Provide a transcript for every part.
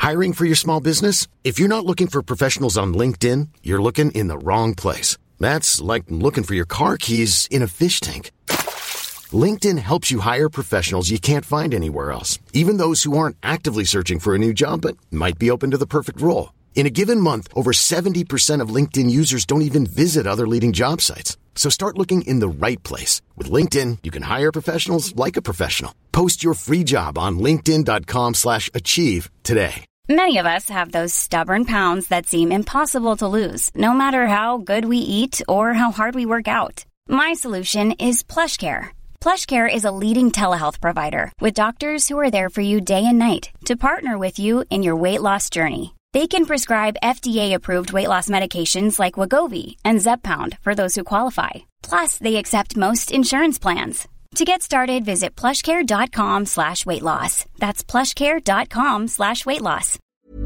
Hiring for your small business? If you're not looking for professionals on LinkedIn, you're looking in the wrong place. That's like looking for your car keys in a fish tank. LinkedIn helps you hire professionals you can't find anywhere else, even those who aren't actively searching for a new job but might be open to the perfect role. In a given month, over 70% of LinkedIn users don't even visit other leading job sites. So start looking in the right place. With LinkedIn, you can hire professionals like a professional. Post your free job on linkedin.com/achieve today. Many of us have those stubborn pounds that seem impossible to lose, no matter how good we eat or how hard we work out. My solution is PlushCare. PlushCare is a leading telehealth provider with doctors who are there for you day and night to partner with you in your weight loss journey. They can prescribe FDA-approved weight loss medications like Wegovy and Zepbound for those who qualify. Plus, they accept most insurance plans. To get started, visit plushcare.com/weightloss. That's plushcare.com/weightloss.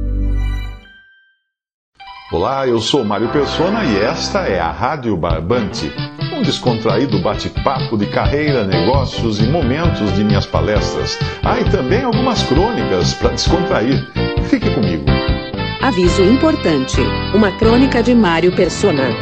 Olá, eu sou Mário Persona e esta é a Rádio Barbante, um descontraído bate-papo de carreira, negócios e momentos de minhas palestras. E também algumas crônicas para descontrair. Fique comigo. Aviso importante, uma crônica de Mário Persona.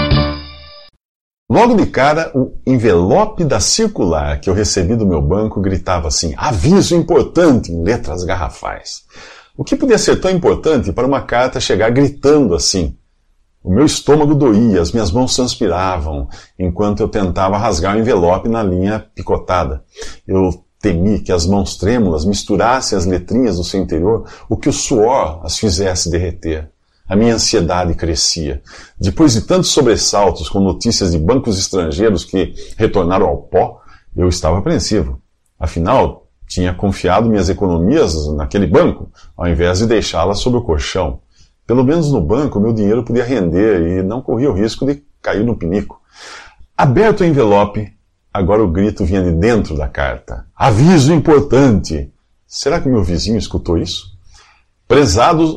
Logo de cara, o envelope da circular que eu recebi do meu banco gritava assim: aviso importante, em letras garrafais. O que podia ser tão importante para uma carta chegar gritando assim? O meu estômago doía, as minhas mãos transpiravam, enquanto eu tentava rasgar o envelope na linha picotada. Eu temi que as mãos trêmulas misturassem as letrinhas do seu interior, o que o suor as fizesse derreter. A minha ansiedade crescia. Depois de tantos sobressaltos com notícias de bancos estrangeiros que retornaram ao pó, eu estava apreensivo. Afinal, tinha confiado minhas economias naquele banco, ao invés de deixá-las sob o colchão. Pelo menos no banco, meu dinheiro podia render e não corria o risco de cair no pinico. Aberto o envelope, agora o grito vinha de dentro da carta. Aviso importante! Será que meu vizinho escutou isso? Prezado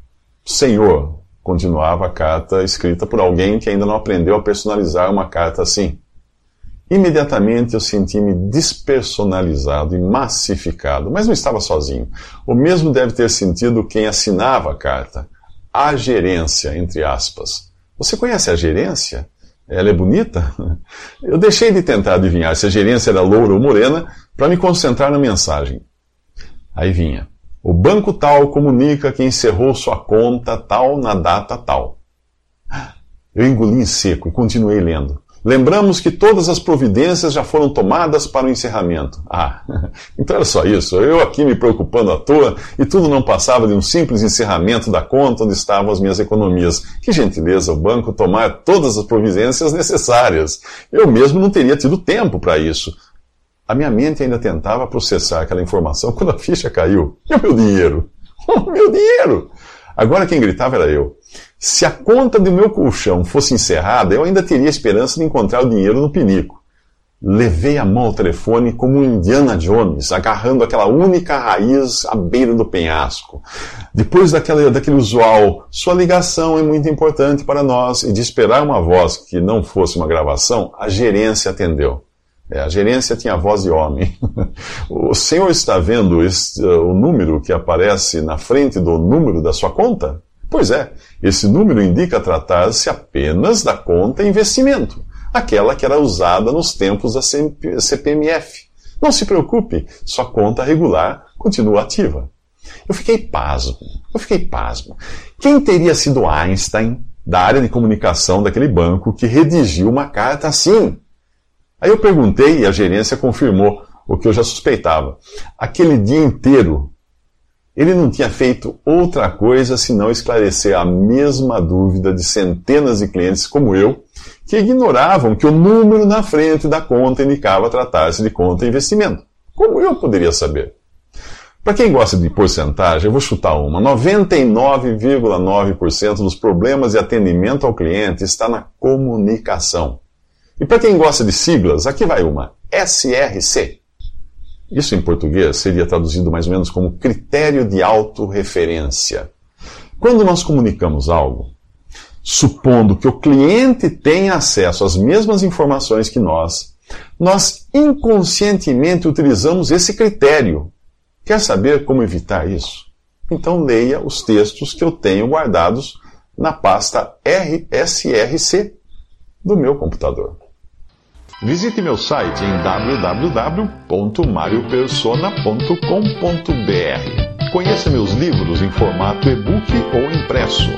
Senhor, continuava a carta escrita por alguém que ainda não aprendeu a personalizar uma carta assim. Imediatamente eu senti-me despersonalizado e massificado, mas não estava sozinho. O mesmo deve ter sentido quem assinava a carta. A gerência, entre aspas. Você conhece a gerência? Ela é bonita? Eu deixei de tentar adivinhar se a gerência era loura ou morena para me concentrar na mensagem. Aí vinha. O banco tal comunica que encerrou sua conta tal na data tal. Eu engoli em seco e continuei lendo. Lembramos que todas as providências já foram tomadas para o encerramento. Então era só isso. Eu aqui me preocupando à toa e tudo não passava de um simples encerramento da conta onde estavam as minhas economias. Que gentileza o banco tomar todas as providências necessárias. Eu mesmo não teria tido tempo para isso. A minha mente ainda tentava processar aquela informação quando a ficha caiu. E o meu dinheiro? O meu dinheiro! Agora quem gritava era eu. Se a conta do meu colchão fosse encerrada, eu ainda teria esperança de encontrar o dinheiro no pinico. Levei a mão ao telefone como um Indiana Jones, agarrando aquela única raiz à beira do penhasco. Depois daquele usual, sua ligação é muito importante para nós, e de esperar uma voz que não fosse uma gravação, a gerência atendeu. A gerência tinha voz de homem. O senhor está vendo o número que aparece na frente do número da sua conta? Pois é, esse número indica tratar-se apenas da conta investimento, aquela que era usada nos tempos da CPMF. Não se preocupe, sua conta regular continua ativa. Eu fiquei pasmo. Quem teria sido Einstein, da área de comunicação daquele banco, que redigiu uma carta assim? Aí eu perguntei e a gerência confirmou o que eu já suspeitava. Aquele dia inteiro, ele não tinha feito outra coisa senão esclarecer a mesma dúvida de centenas de clientes como eu, que ignoravam que o número na frente da conta indicava tratar-se de conta investimento. Como eu poderia saber? Para quem gosta de porcentagem, eu vou chutar uma. 99,9% dos problemas de atendimento ao cliente está na comunicação. E para quem gosta de siglas, aqui vai uma. SRC. Isso em português seria traduzido mais ou menos como critério de autorreferência. Quando nós comunicamos algo, supondo que o cliente tenha acesso às mesmas informações que nós inconscientemente utilizamos esse critério. Quer saber como evitar isso? Então leia os textos que eu tenho guardados na pasta RSRC do meu computador. Visite meu site em www.mariopersona.com.br. Conheça meus livros em formato e-book ou impresso.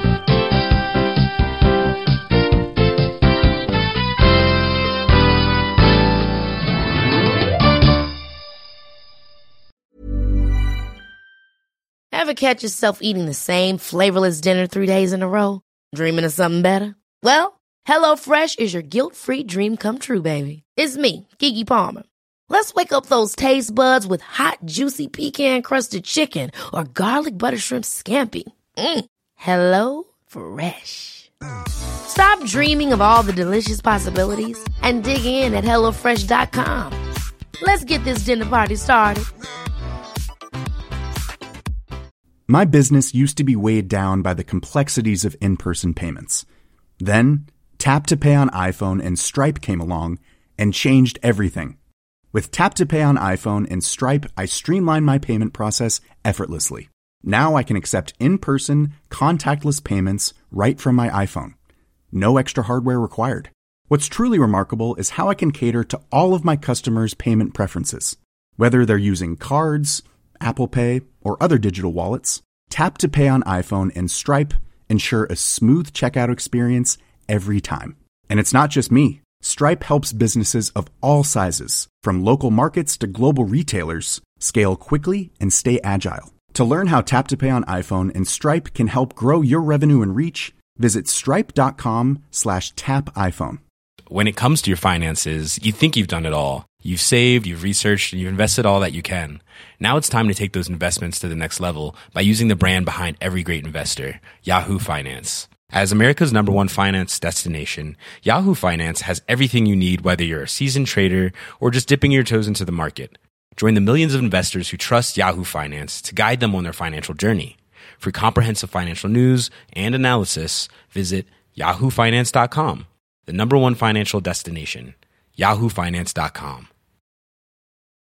Ever catch yourself eating the same flavorless dinner 3 days in a row? Dreaming of something better? Well, HelloFresh is your guilt-free dream come true, baby. It's me, Keke Palmer. Let's wake up those taste buds with hot, juicy pecan-crusted chicken or garlic butter shrimp scampi. Hello Fresh. Stop dreaming of all the delicious possibilities and dig in at HelloFresh.com. Let's get this dinner party started. My business used to be weighed down by the complexities of in-person payments. Then, Tap to Pay on iPhone and Stripe came along and changed everything. With Tap to Pay on iPhone and Stripe, I streamlined my payment process effortlessly. Now I can accept in-person, contactless payments right from my iPhone. No extra hardware required. What's truly remarkable is how I can cater to all of my customers' payment preferences. Whether they're using cards, Apple Pay, or other digital wallets, Tap to Pay on iPhone and Stripe ensure a smooth checkout experience every time. And it's not just me. Stripe helps businesses of all sizes, from local markets to global retailers, scale quickly and stay agile. To learn how Tap to Pay on iPhone and Stripe can help grow your revenue and reach, visit stripe.com/tapiphone. When it comes to your finances, you think you've done it all. You've saved, you've researched, and you've invested all that you can. Now it's time to take those investments to the next level by using the brand behind every great investor, Yahoo Finance. As America's #1 finance destination, Yahoo Finance has everything you need, whether you're a seasoned trader or just dipping your toes into the market. Join the millions of investors who trust Yahoo Finance to guide them on their financial journey. For comprehensive financial news and analysis, visit yahoofinance.com, the #1 financial destination, yahoofinance.com.